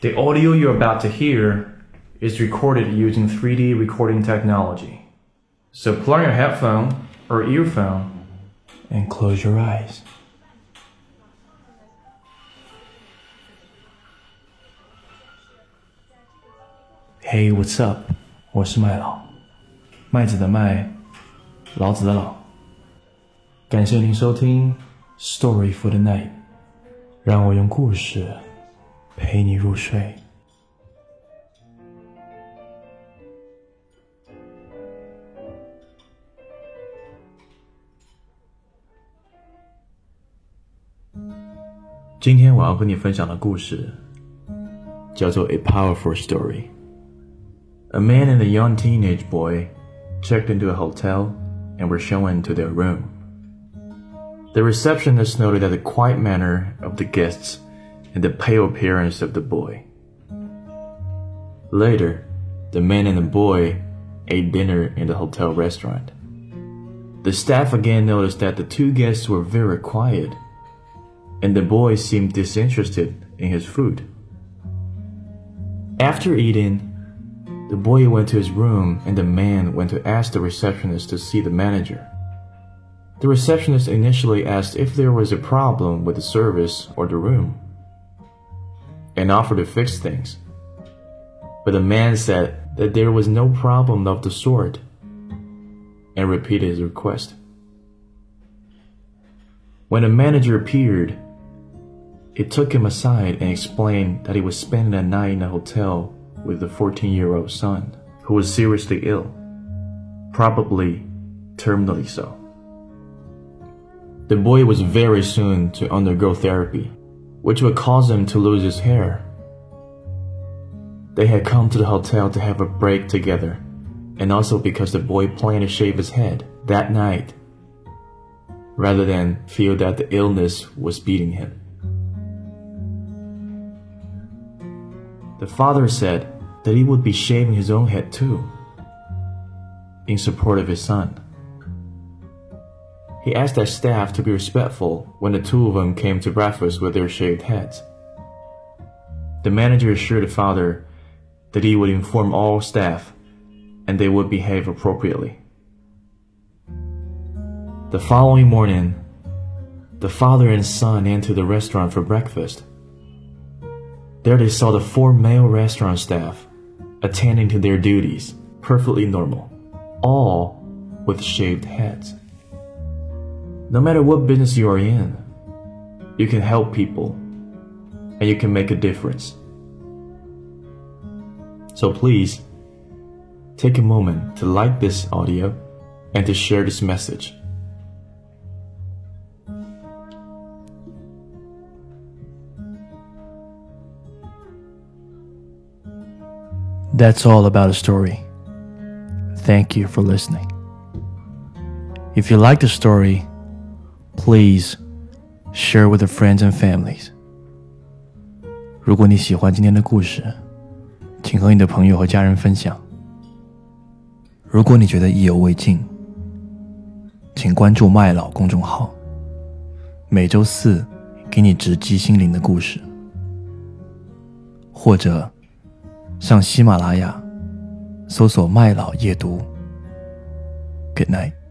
The audio you're about to hear is recorded using 3D recording technology. So plug your headphone or earphone and close your eyes. Hey, what's up? 我是麦老，麦子的麦，老子的老。感谢您收听 Story for the Night， 让我用故事陪你入睡。今天我要跟你分享的故事叫做 A Powerful Story。A man and a young teenage boy checked into a hotel and were shown into their room. The receptionist noted the quiet manner of the guests and the pale appearance of the boy. Later, the man and the boy ate dinner in the hotel restaurant. The staff again noticed that the two guests were very quiet, and the boy seemed disinterested in his food. After eating, the boy went to his room and the man went to ask the receptionist to see the manager. The receptionist initially asked if there was a problem with the service or the room and offered to fix things. But the man said that there was no problem of the sort and repeated his request. When the manager appeared, he took him aside and explained that he was spending a night in a hotel with a 14-year-old son who was seriously ill, probably terminally so. The boy was very soon to undergo therapy, which would cause him to lose his hair. They had come to the hotel to have a break together, and also because the boy planned to shave his head that night, rather than feel that the illness was beating him. The father said that he would be shaving his own head too, in support of his son. He asked the staff to be respectful when the two of them came to breakfast with their shaved heads. The manager assured the father that he would inform all staff and they would behave appropriately. The following morning, the father and son entered the restaurant for breakfast. There they saw the 4 male restaurant staff attending to their duties, perfectly normal, all with shaved heads. No matter what business you are in, you can help people and you can make a difference. So please, take a moment to like this audio and to share this message. That's all about a story. Thank you for listening. If you like the story, please share with your friends and families. 如果你喜欢今天的故事，请和你的朋友和家人分享。如果你觉得意犹未尽，请关注麦老公众号，每周4给你直击心灵的故事，或者上喜马拉雅搜索麦老夜读。Good night.